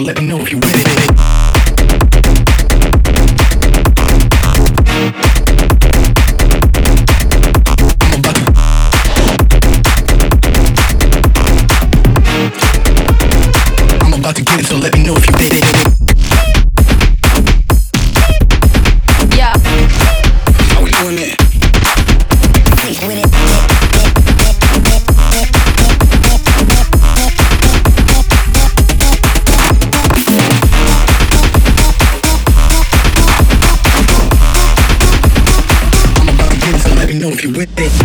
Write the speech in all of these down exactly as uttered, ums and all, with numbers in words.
let me know if you with it. About to get it, so let me know if you did it. Yeah. How we doing it? With it. I'm about to get it, so let me know if you with it.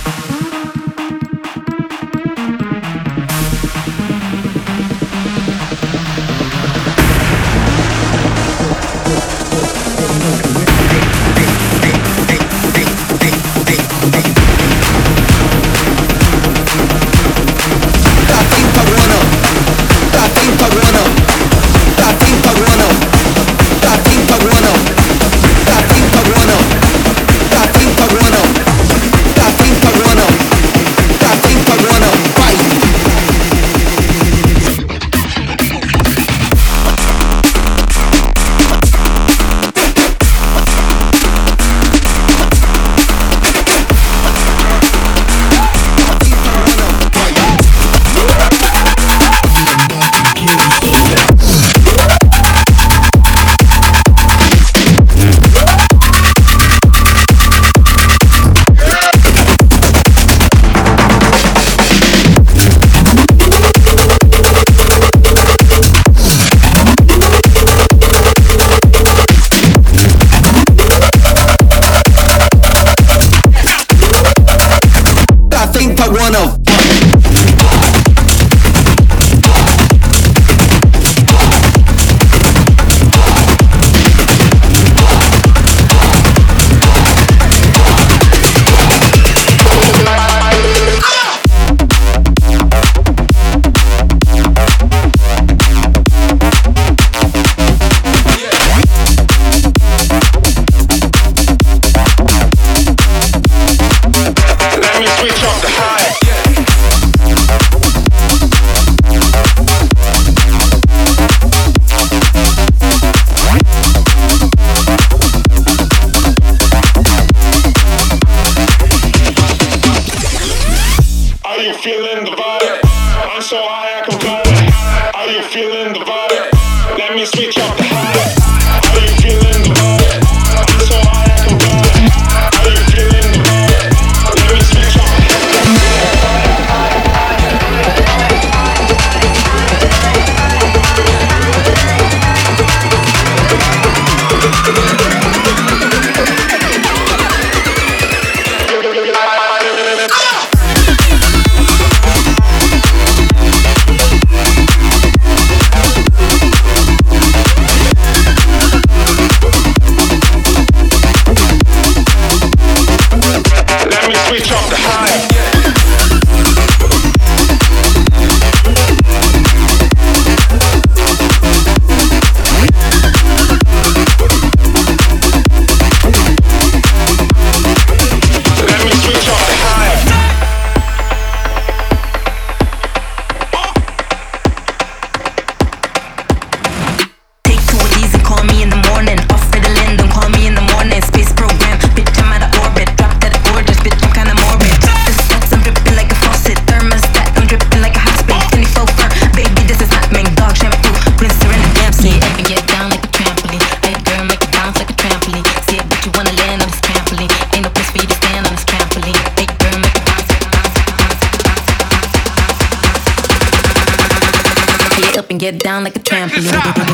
Get down like a trampoline.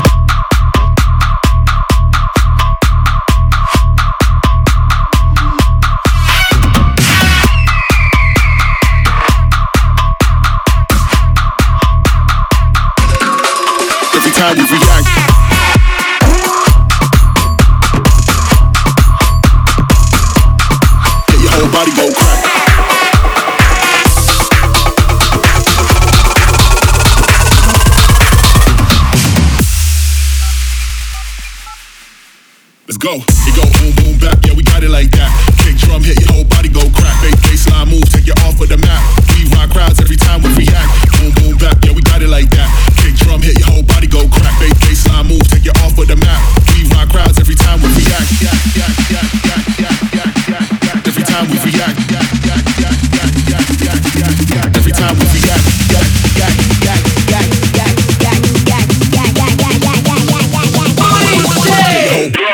Every time we react, get your whole body go crack. Let's go. It go boom, boom, back. Yeah, we got it like that. Kick drum, hit your whole body go crack. Bass, baseline moves, take you off of the map. We rock crowds every time we react. Boom, boom, back. Yeah, we got it like that. Kick drum, hit your whole body go crack. Every time we react, react, react, react, react, react, react, react, react, react, react, react, react.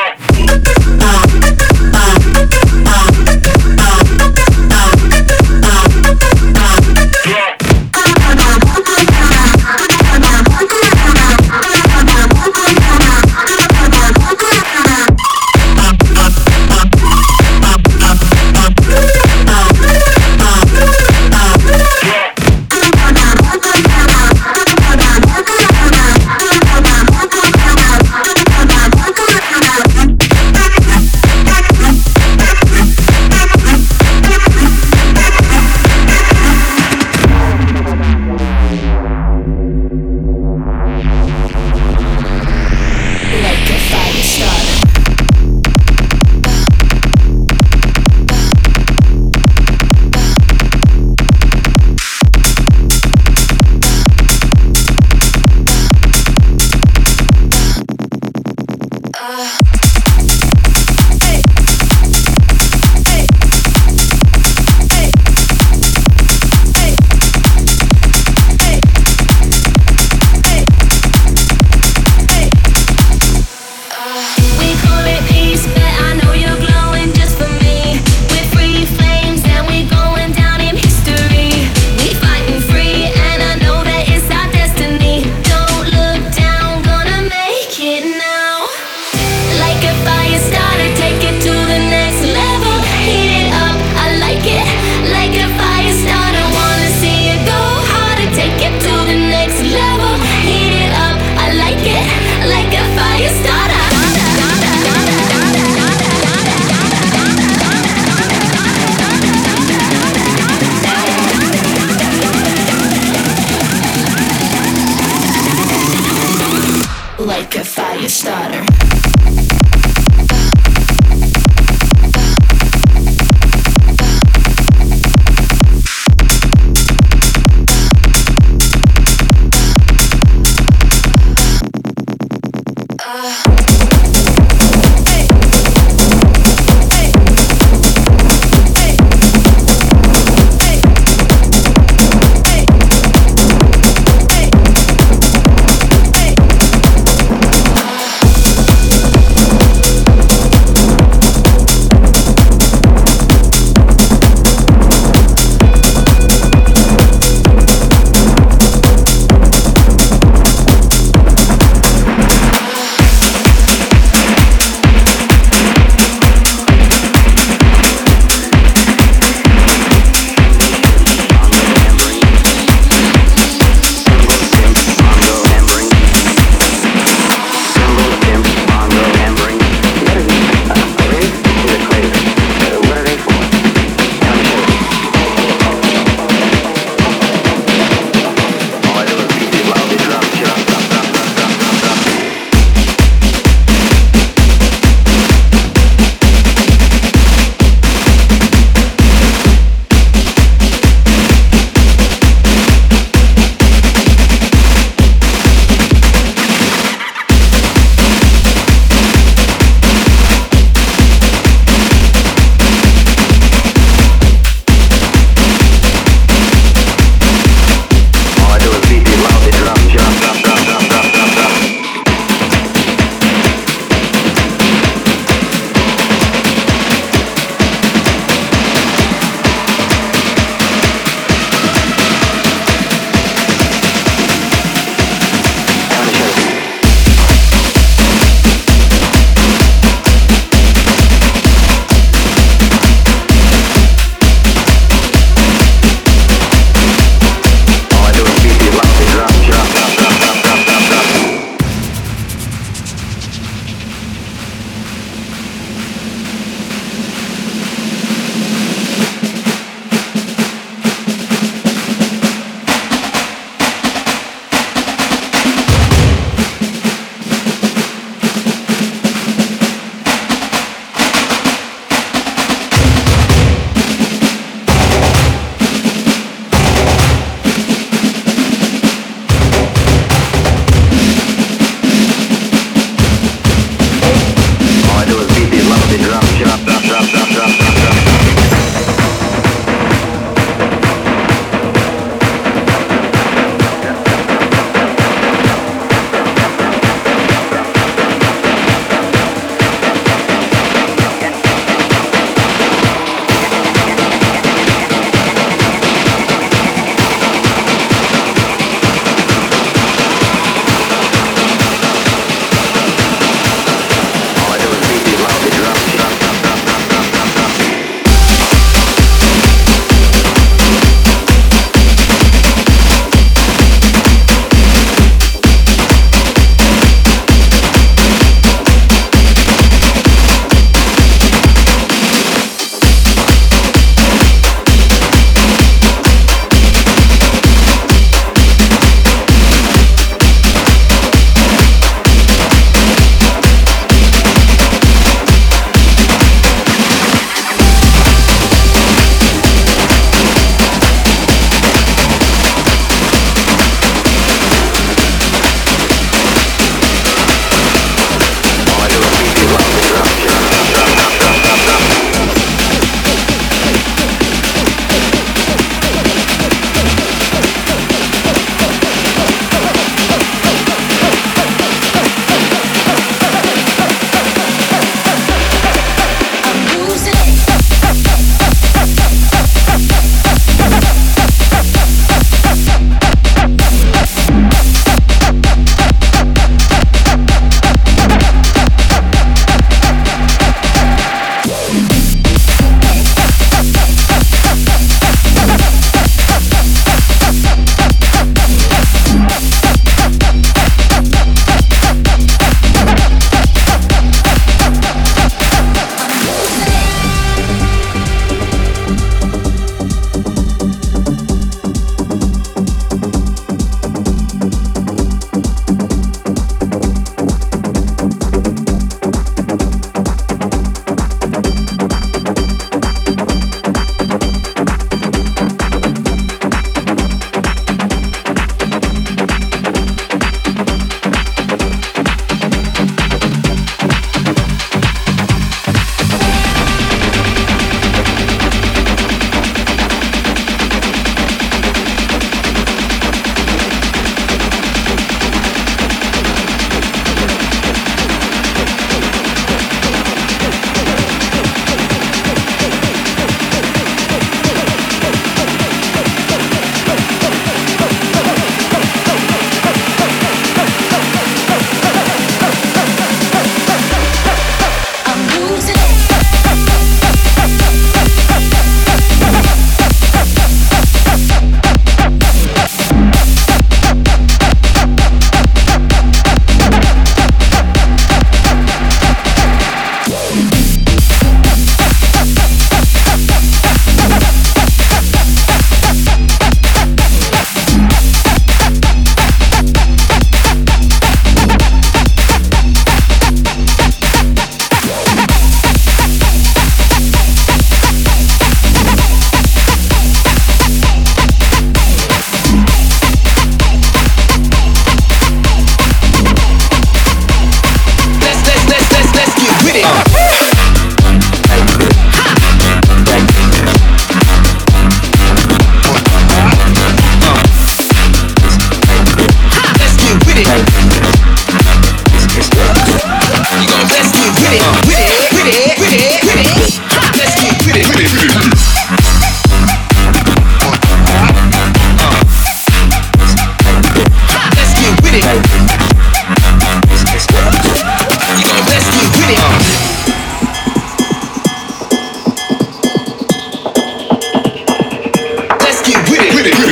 with it.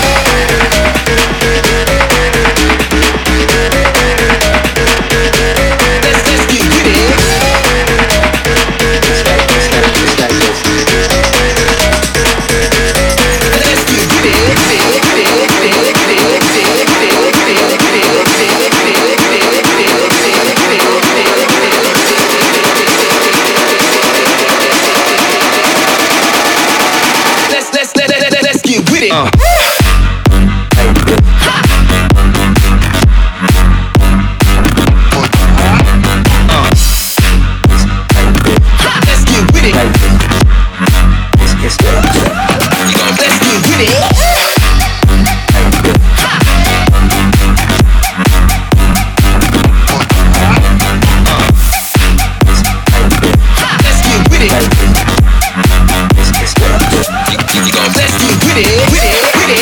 Let's let's get with it. It's like, it's like, it's like this. Let's get with Let's let's let let let let's get with it. Uh. Let's get with it, with it, with it.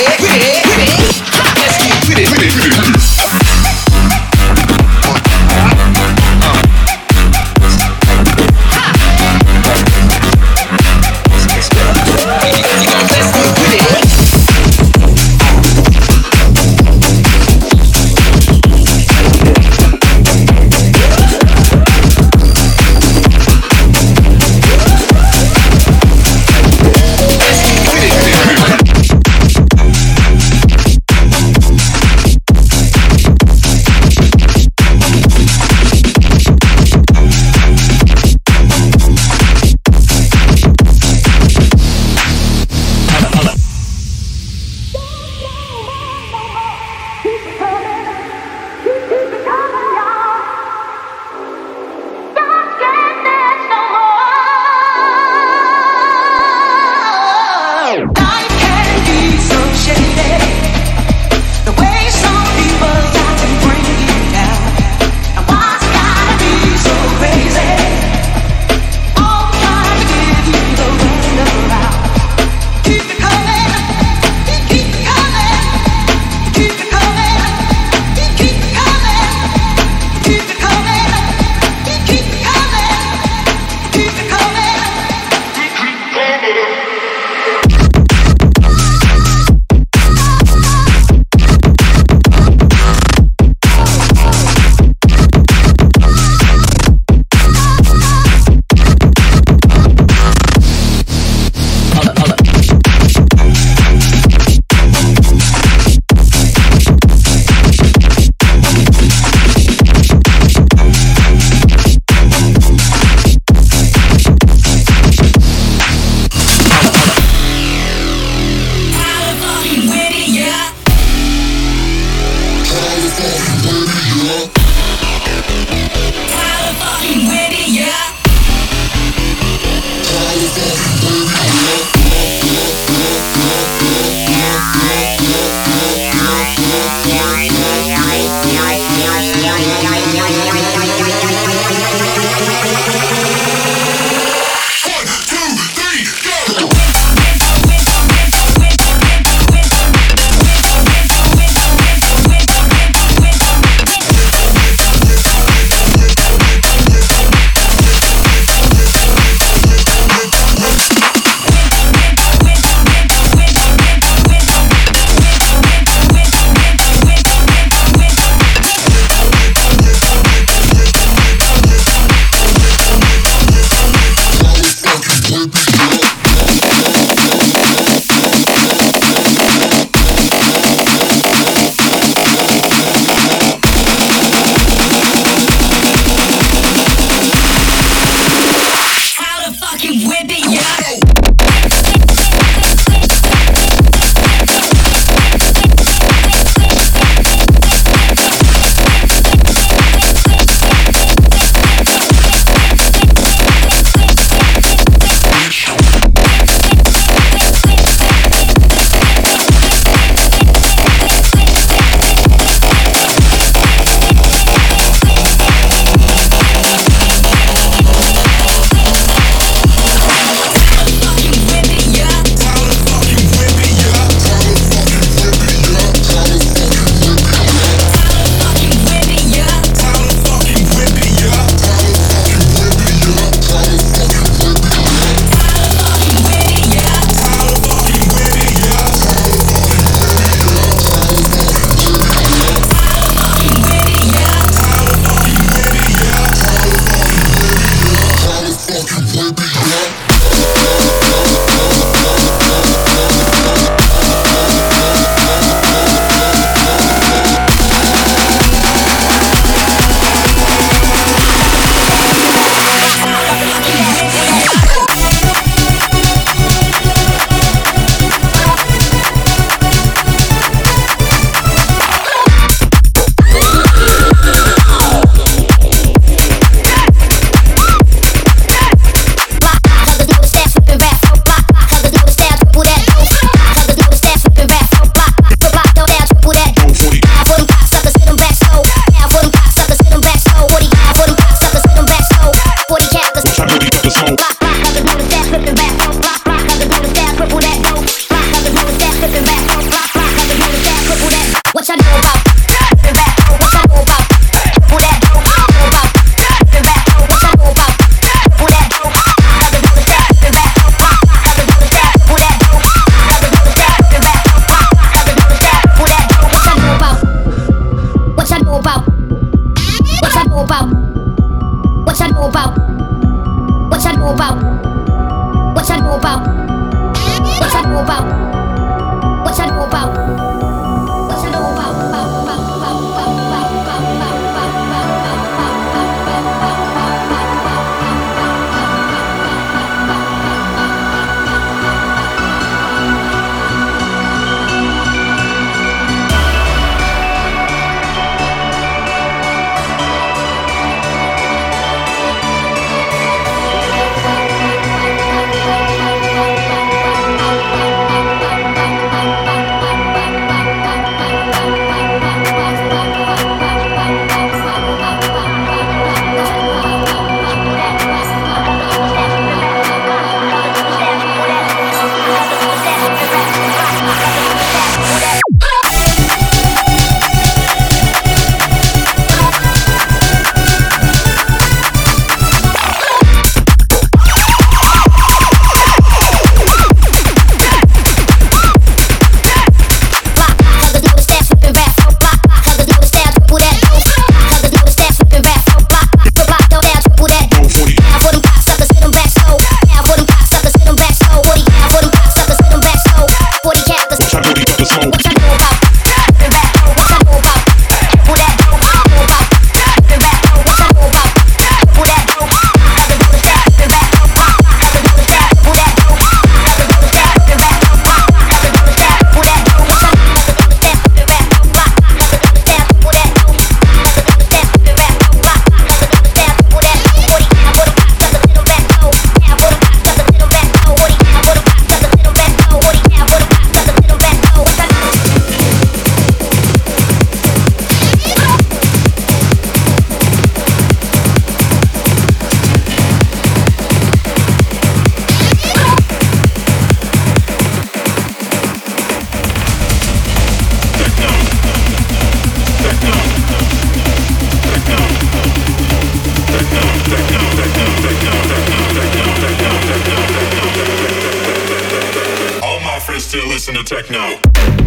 the smoke. What you know about that? What you know about who that dope? Know about that? What you know about who that dope? Got the roller strap, the back up, got the roller strap, who that dope? Got the roller strap, the back up, got the roller strap, who that dope? What you know about the roller strap, the back up, got the roller strap, who that dope? Got the roller strap, the back up, got the roller strap, who that dope? Forty, I put 'em back, 'cause the little back low. Yeah, I put 'em back, 'cause the little back low. Forty, I put 'em back, 'cause the little back low. Forty, I put 'em back, 'cause the little back low. What you know? All my friends still listen to techno.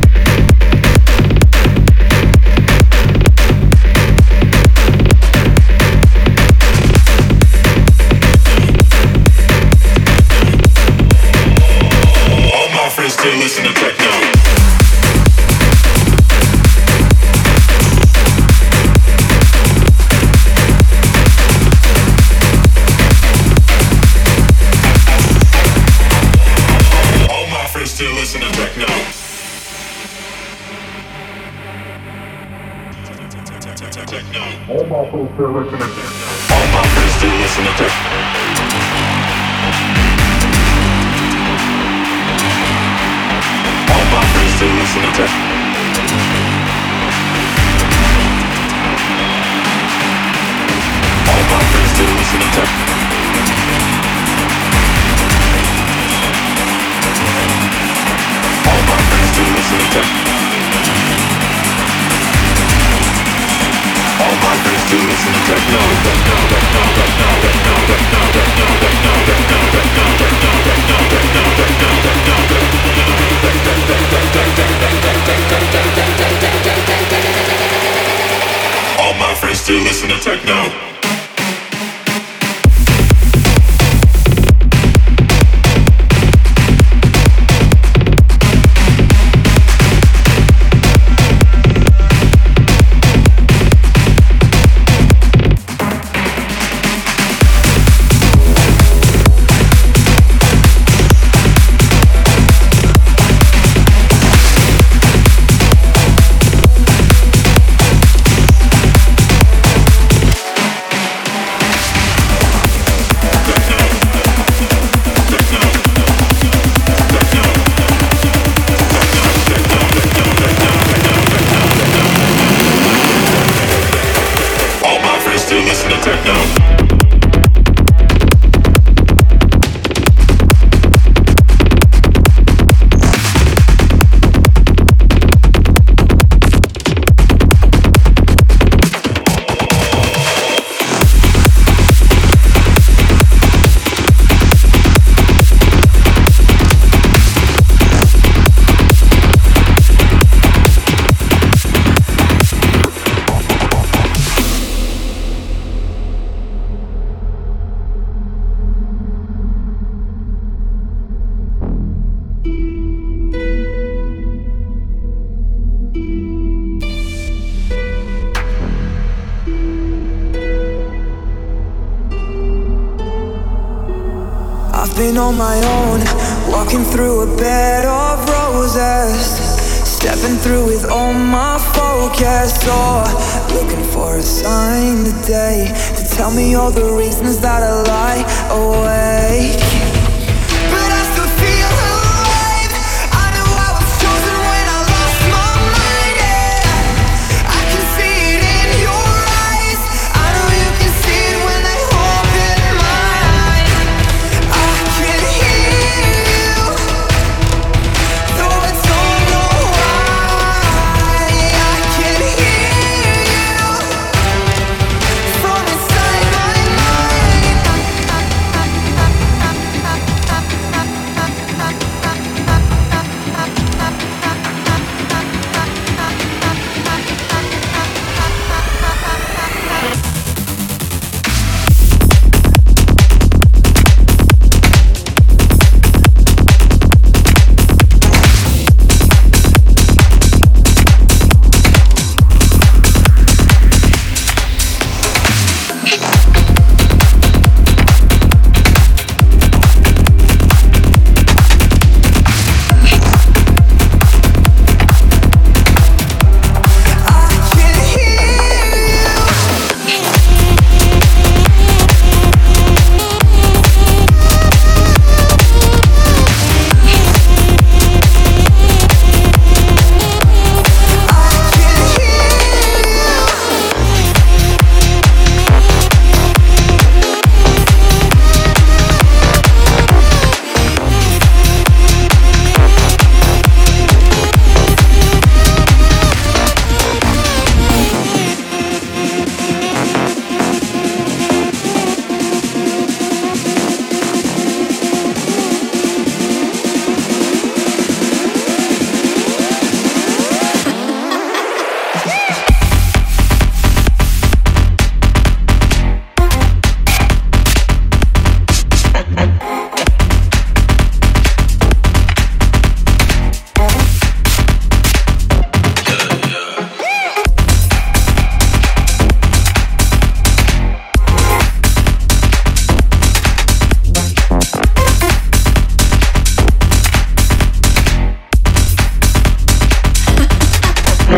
All my friends still listen to techno. All my friends still listen to techno. Techno. All my friends still listen to techno. All my friends still listen to techno. All my friends still listen to techno. All my friends still listen to techno. All my friends still listen to techno. All my friends still listen to techno. Techno, techno, techno, techno, techno, techno, techno, techno, techno, techno, techno, techno, techno, techno. All my friends still listen to techno. Been on my own, walking through a bed of roses, stepping through with all my focus, oh, looking for a sign today to tell me all the reasons that I lie awake. But I still feel alive. I knew I was chosen when I lost my mind, yeah. I can see it in your eyes. I know you can see it when they open mine. I can hear you, though I don't know why. I can hear you from inside my mind.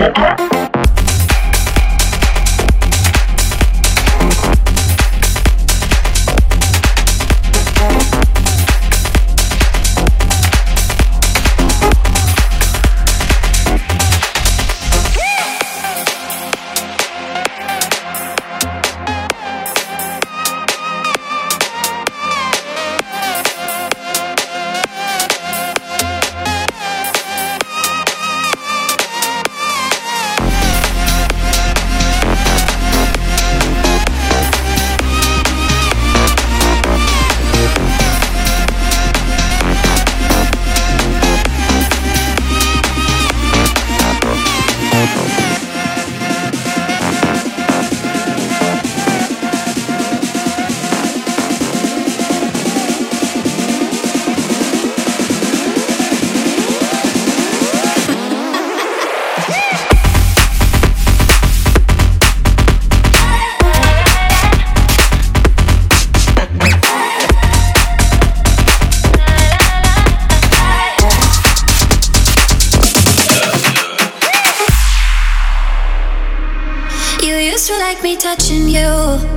Touching you,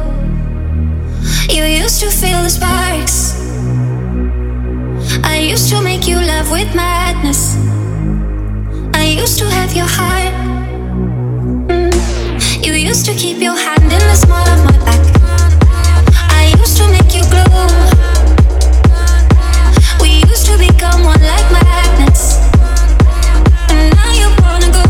you used to feel the sparks. I used to make you love with madness. I used to have your heart. mm. You used to keep your hand in the small of my back. I used to make you glow. We used to become one like magnets. And now you wanna go.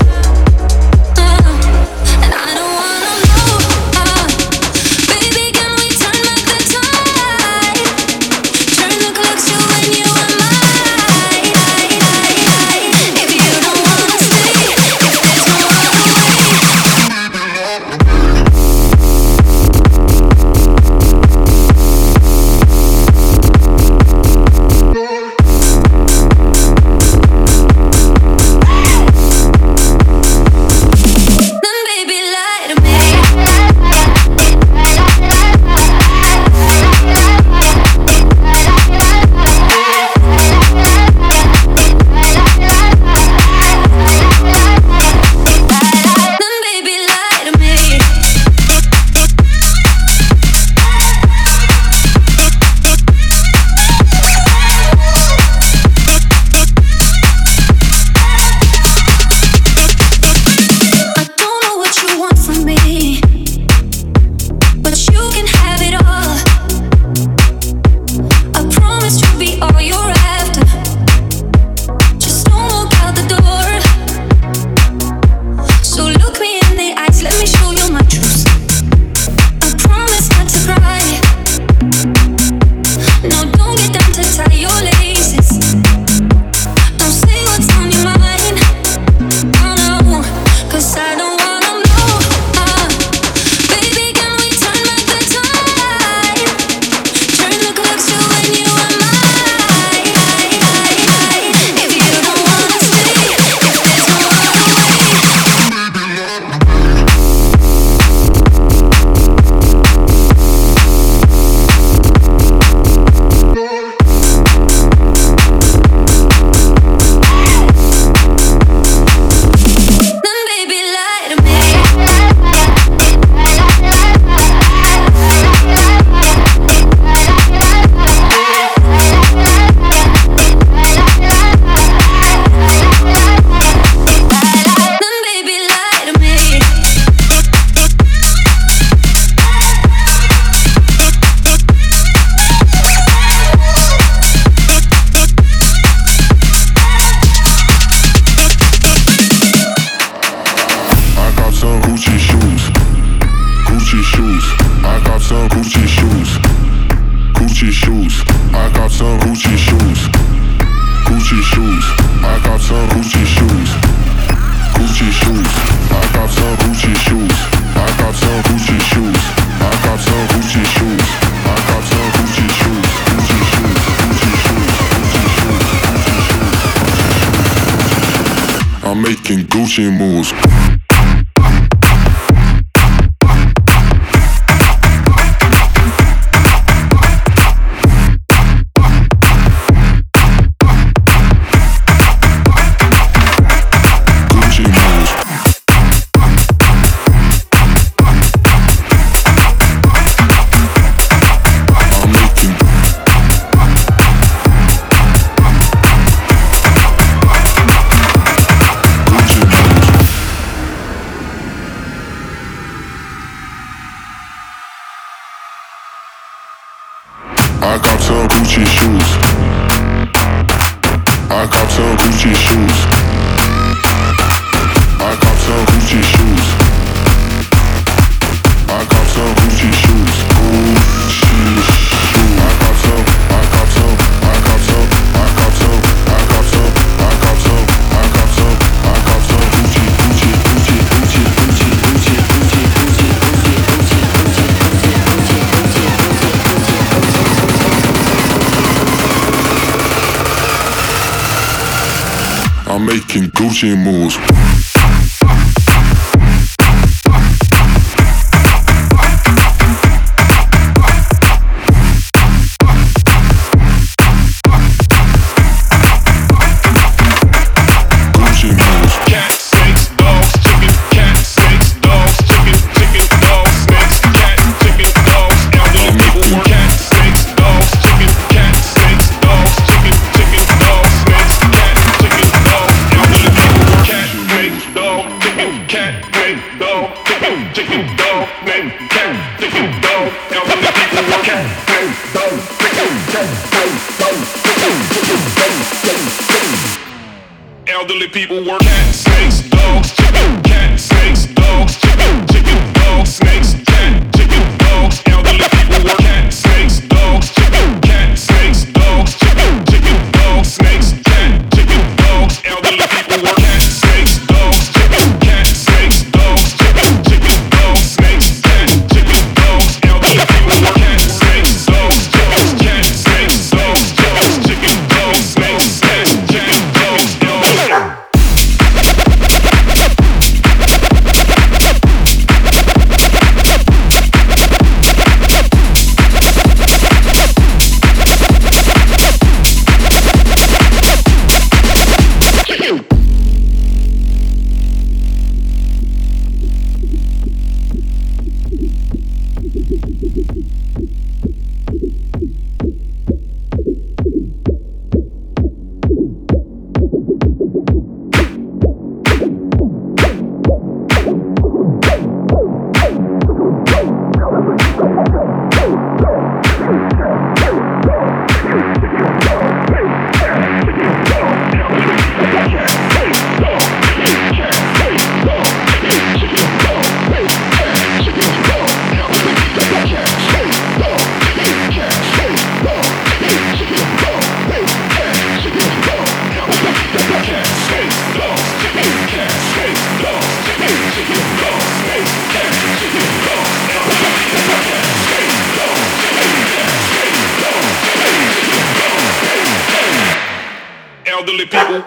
making Gucci moves. Gucci moves. Gucci shoes. I cop some Gucci shoes. I cop some Gucci shoes. Gucci shoes. I cop some. I cop some. I cop some. I cop some. I cop some. I cop some. I cop some. I cop some Gucci, Gucci, Gucci, Gucci, Gucci, Gucci, Gucci, Gucci, Gucci, Gucci, Gucci, Gucci, Gucci, Gucci. I'm making Gucci moves. Elderly people work cat, snakes, dogs, chicken, cat, snakes, dogs, chicken, chicken, dogs, snakes, cat, chicken, dogs. Elderly people work cat, snakes, dogs, chicken, cat, snakes, dogs, chicken, chicken, dogs, snakes, cat, chicken, dogs. Elderly people work cat, snakes, dogs, chicken, cat, snakes, dogs, chicken, chicken, dogs, snakes, cat, chicken, dogs. Elderly people work cat, snakes, dogs, chicken, cat, snakes, dogs, chicken, dogs, snakes, cat, chicken, dogs. Elderly people.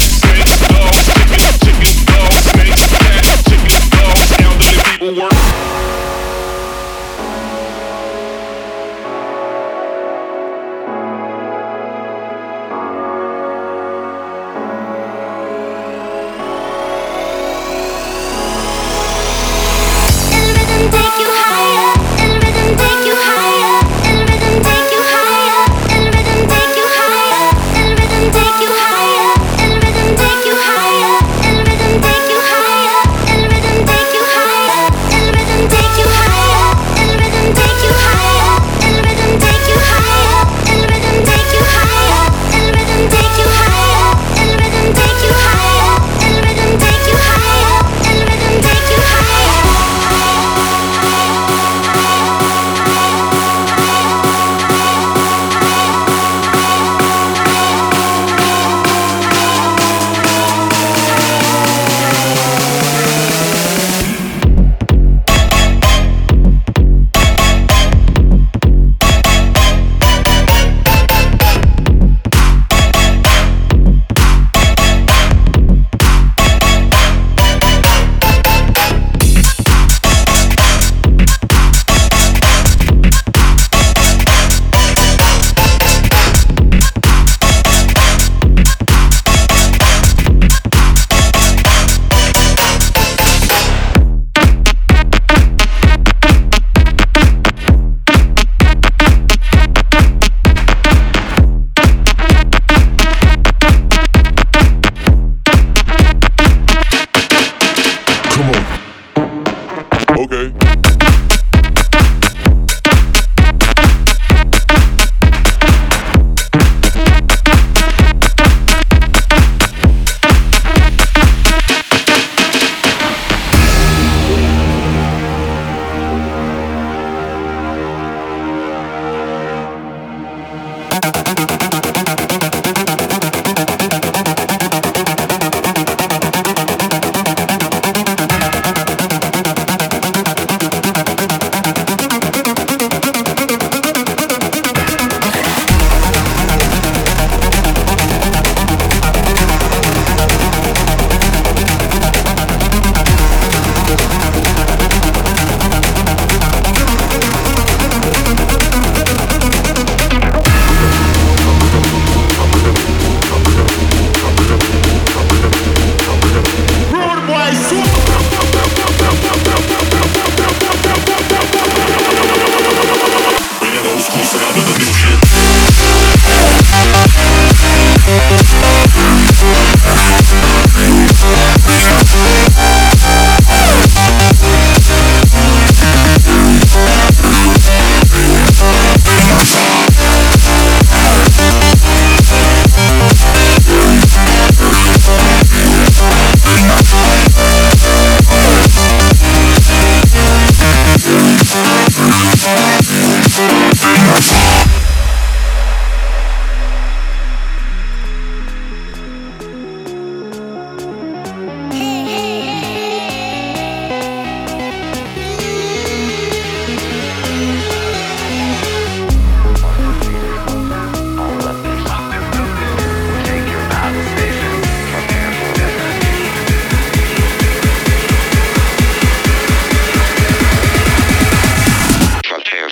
Work.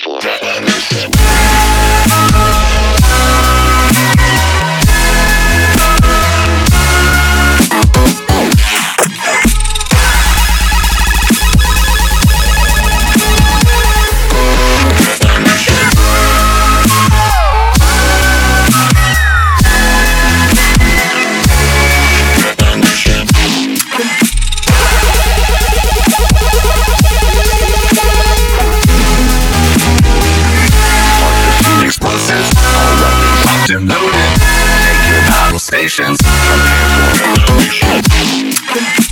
for. Explosives, already locked and loaded. Take your battle stations. Prepare for revolution.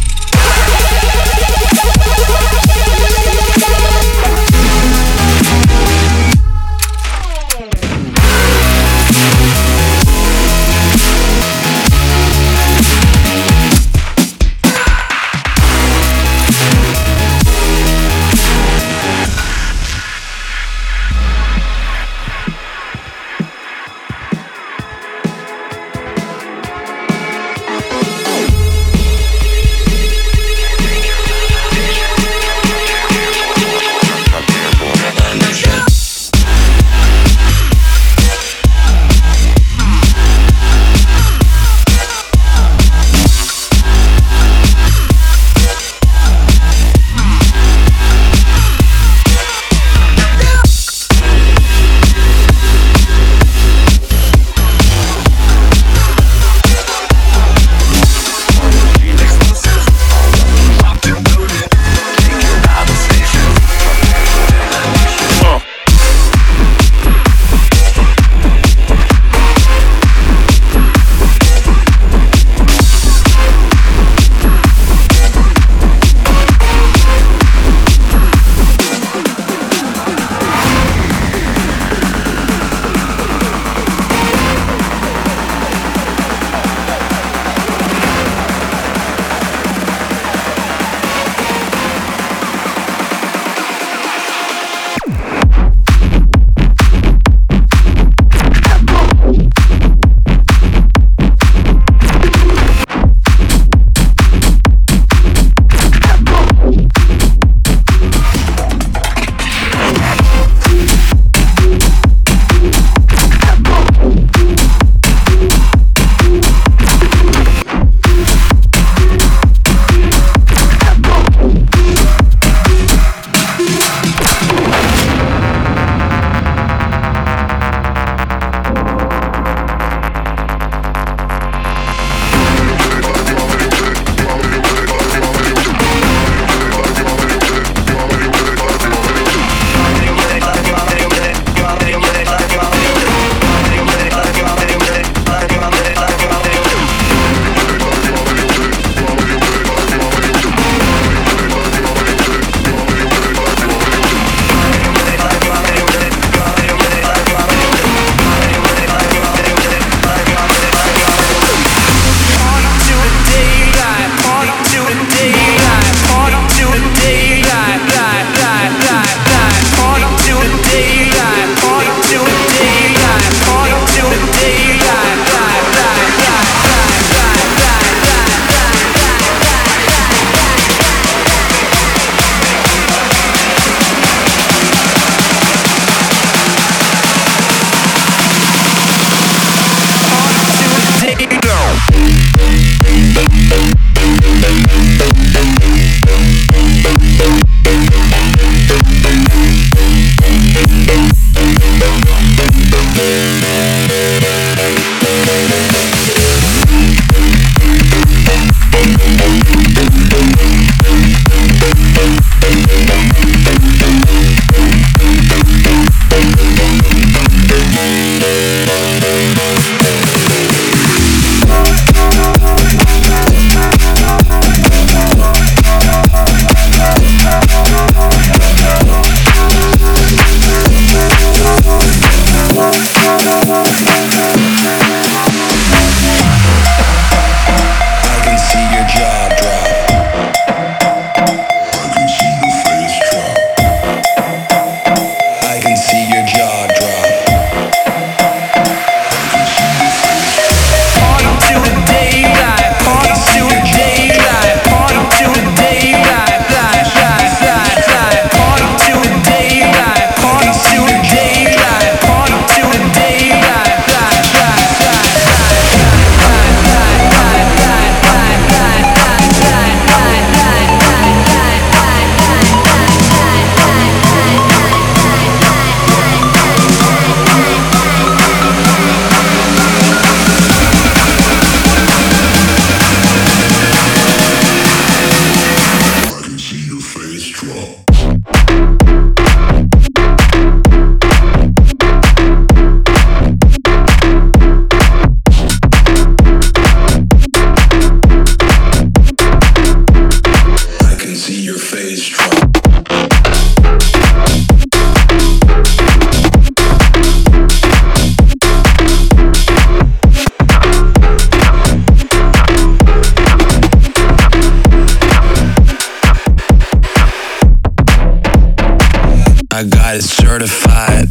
certified.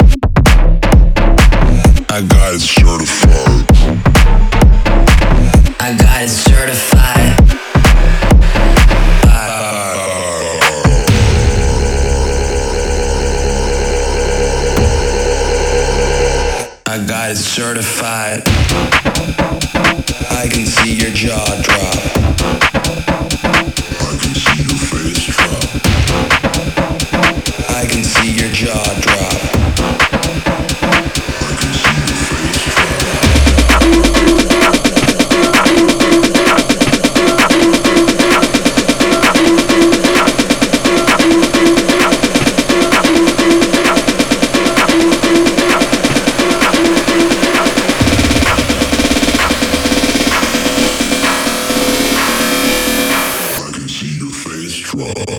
I got it certified. I got it certified. I got it certified. I can see your jaw drop. I can see your face drop. I can see your jaw drop. I can see your face drop. I can see your face drop.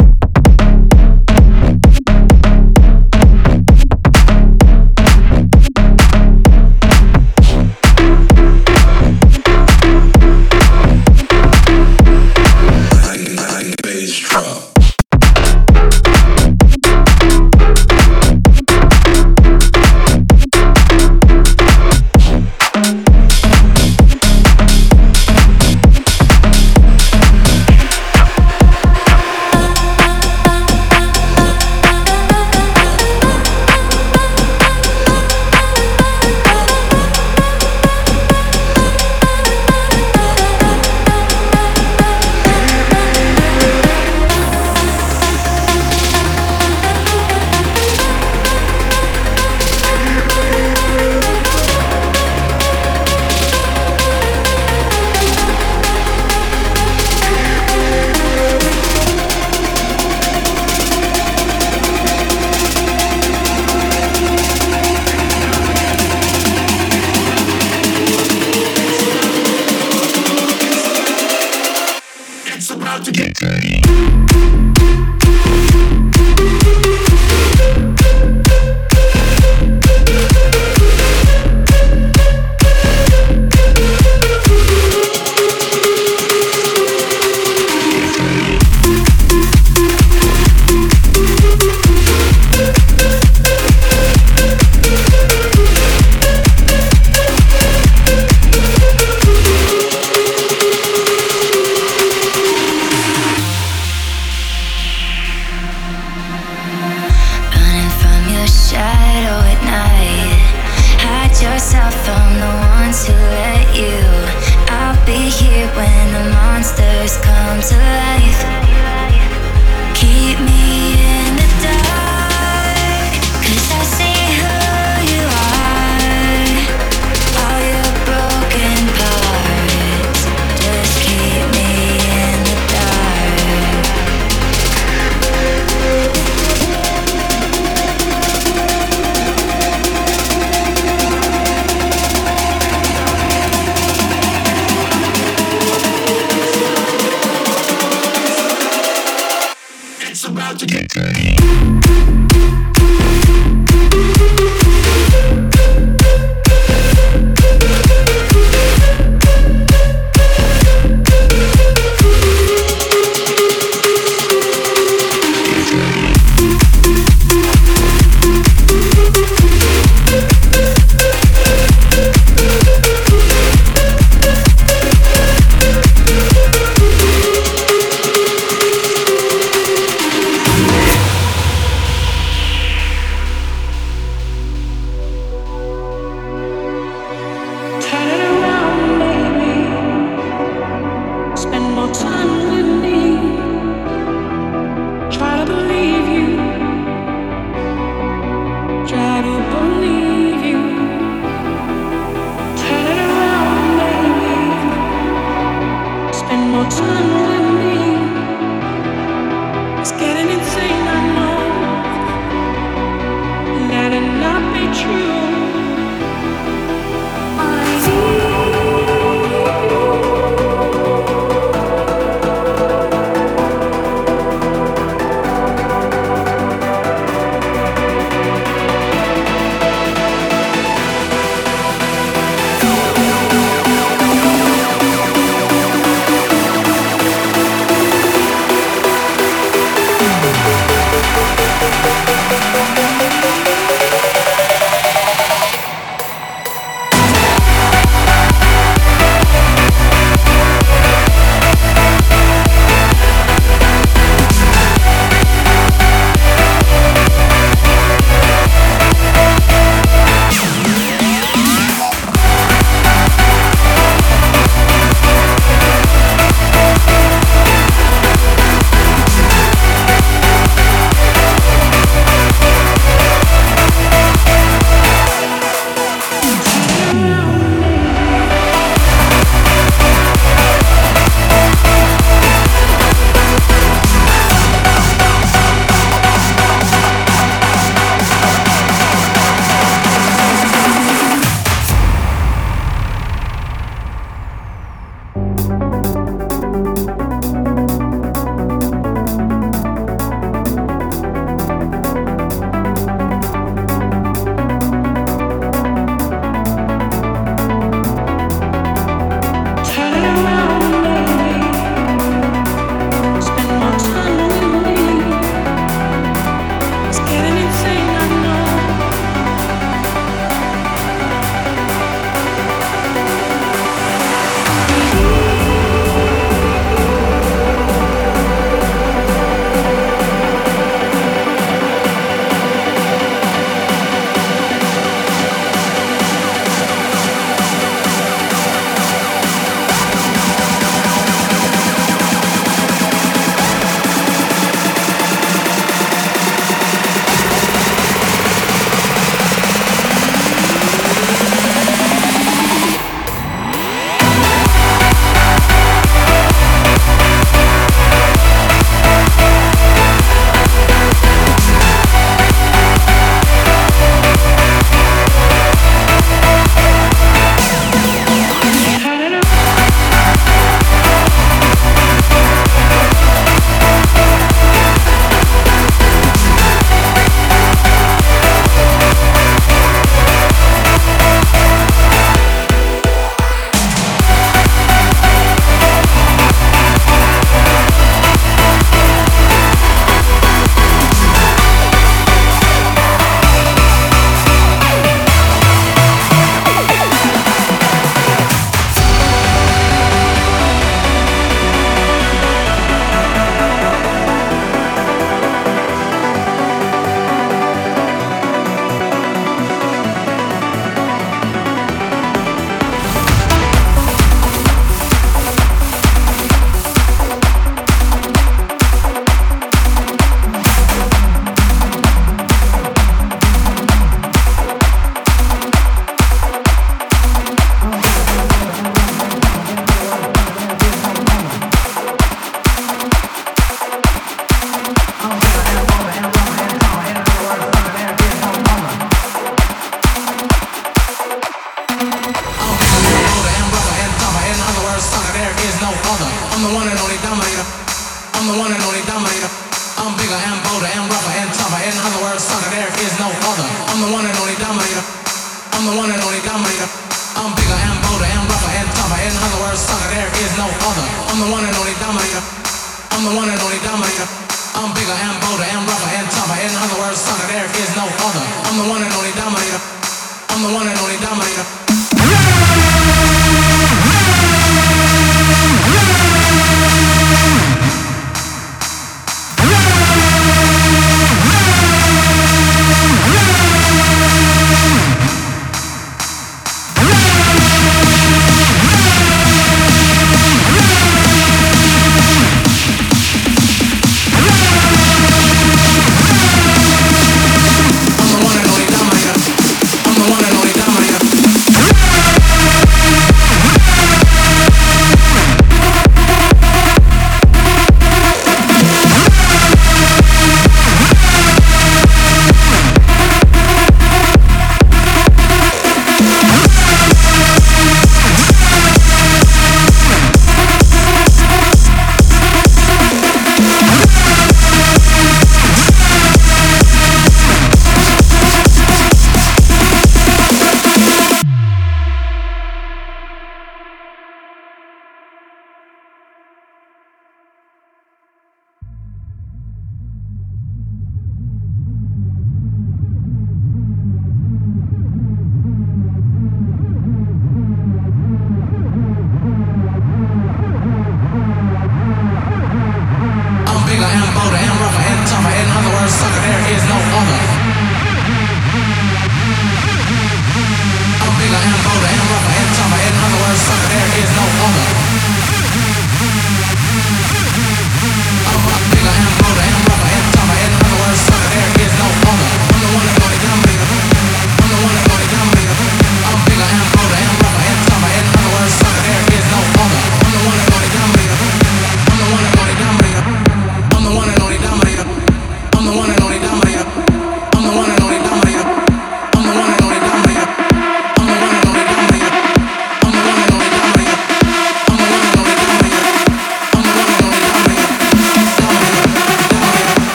the one and only dominator. I'm the one and only dominator. I'm bigger and bolder and rougher and tougher. In other words, sucker, there is no other. I'm the one and only dominator. I'm the one and only dominator. I'm bigger and bolder and rougher and tougher. In other words, sucker, there is no other. I'm the one and only dominator. I'm the one and only dominator.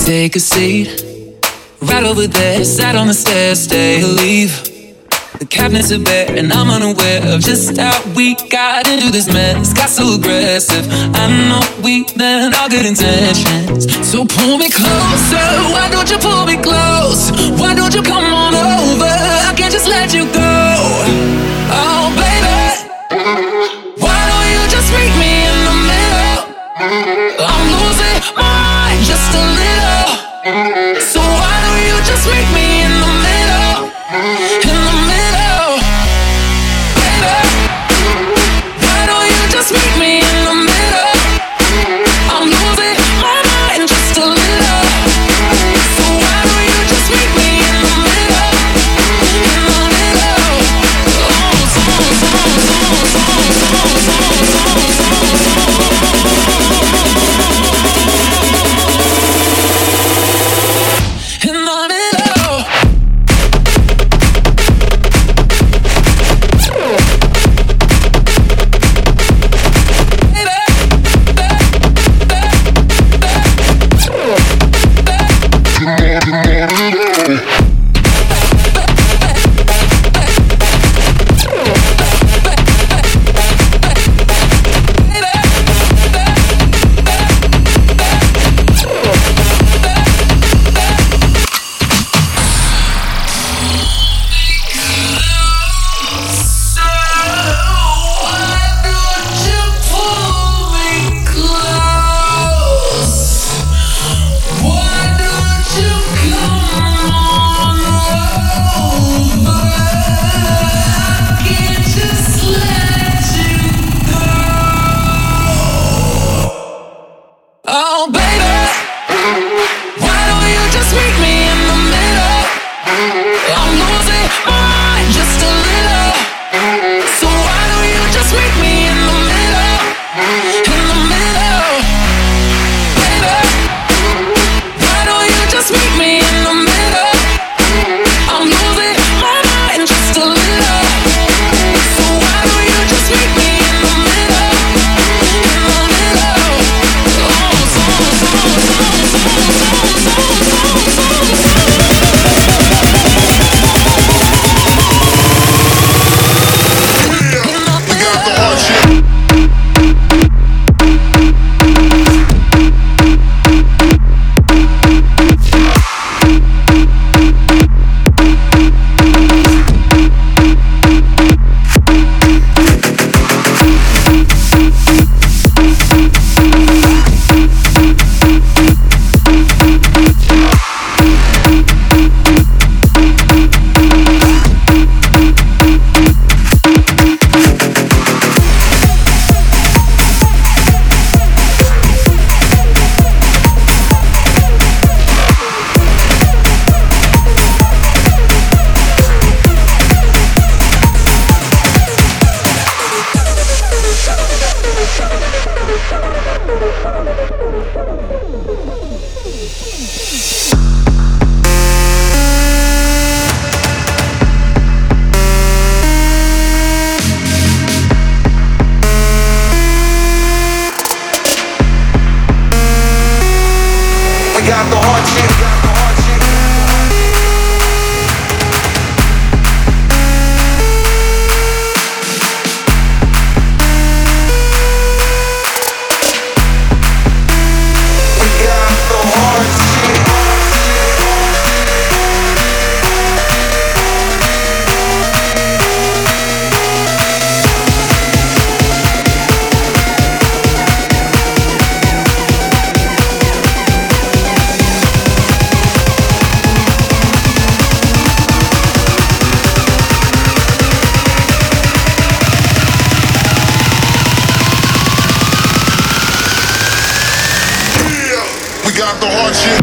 Take a seat, right over there. Sat on the stairs, stay or leave. The cabinets are bare, and I'm unaware of just how we got into this mess. Got so aggressive. I know we meant all good intentions. So pull me closer. Why don't you pull me close? Why don't you come on over? I can't just let you go. Oh, baby, why don't you just meet me in the middle? I'm losing my mind just a little. So why don't you just meet me in the middle? In the middle, baby. Why don't you just meet me in the middle? I'm losing my mind just a little. So why don't you just meet me in the middle? In the middle. Oh, so, so, so, so, so, in the middle. Oh, baby, why don't you just meet me in the middle? I'm losing my mind just a little. So why don't you just meet me in the middle? In the middle, baby. Why don't you just meet me in the middle? I'm losing my mind just a little. So why don't you just meet me in the middle? In the middle. Oh, so, so, so, so, so, so, so, got the hard shit.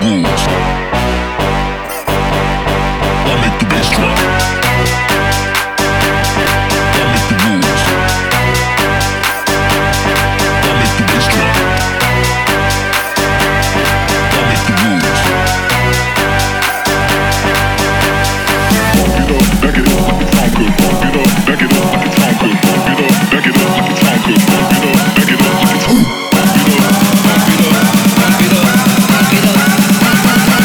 rules. I make the bass drop. I make the rules. I make the bass drop. I make the rules. Pump it up, back it up like it sound good. Pump it up, back it up like it sound good. Pump it up, back it up like it sound good. Pump it up, back it up like it sound good. Pump it up, pump it up, pump it up, pump it up.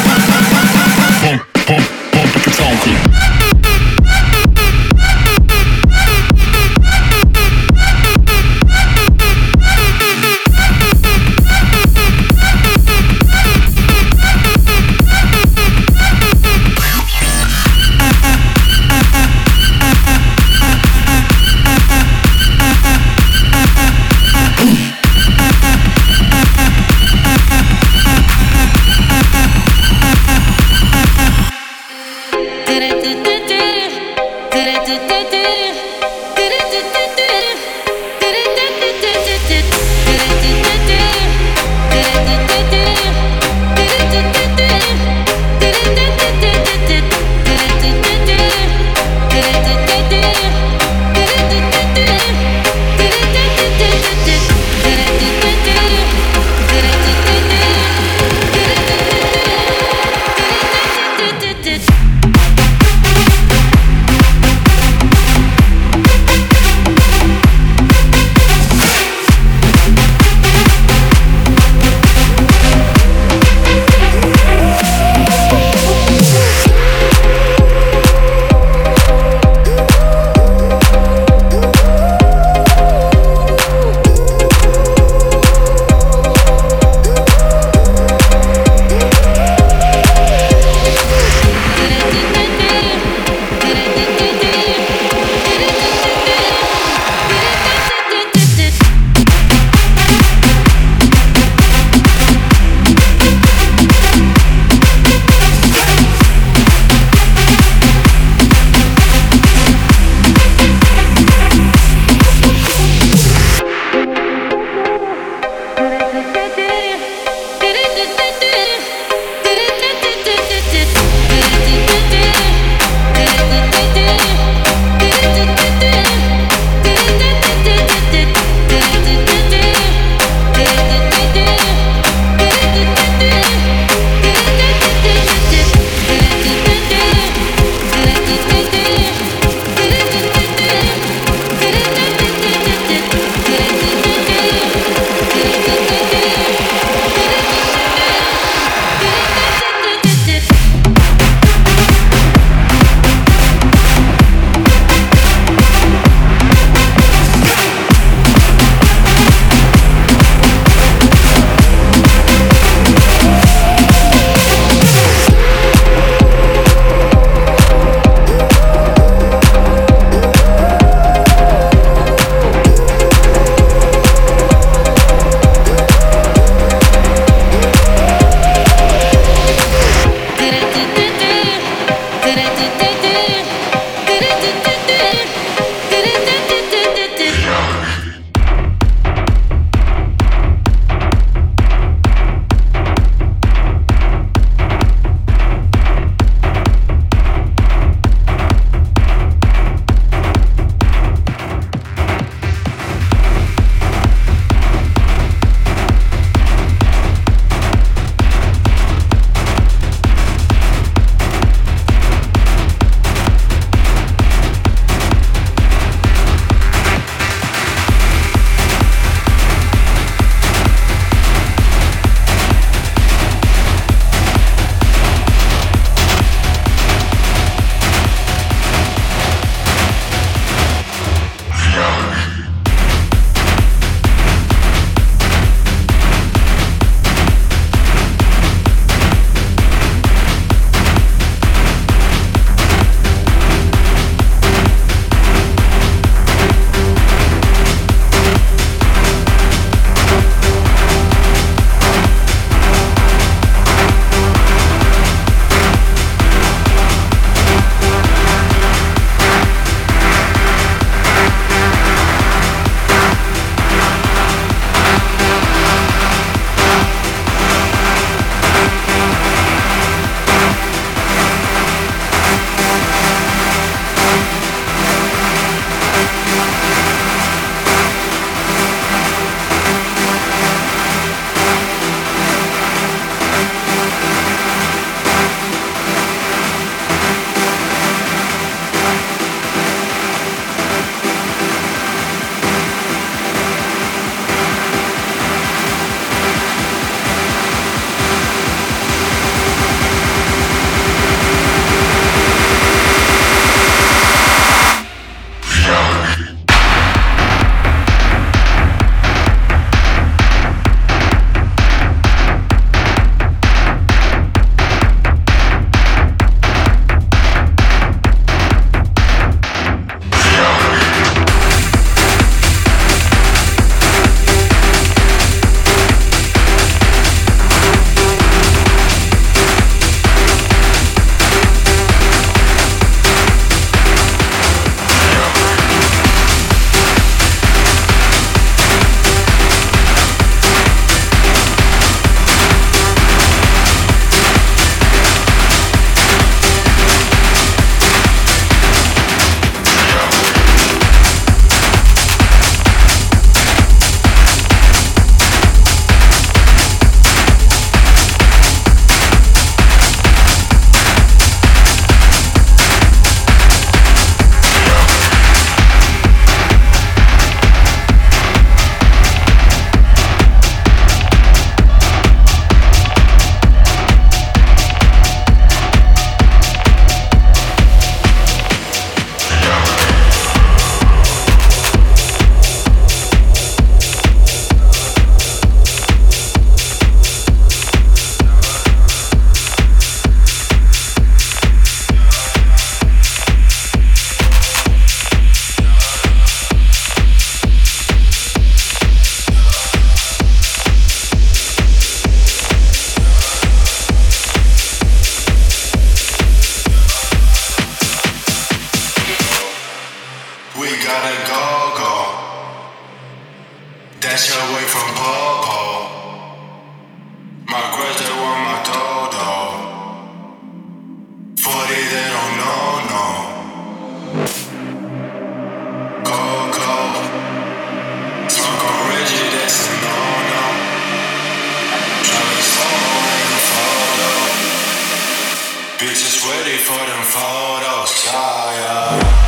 ready for them photos, yeah, yeah.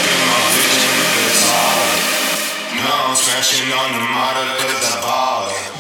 Smashing on the model cause I ballin'.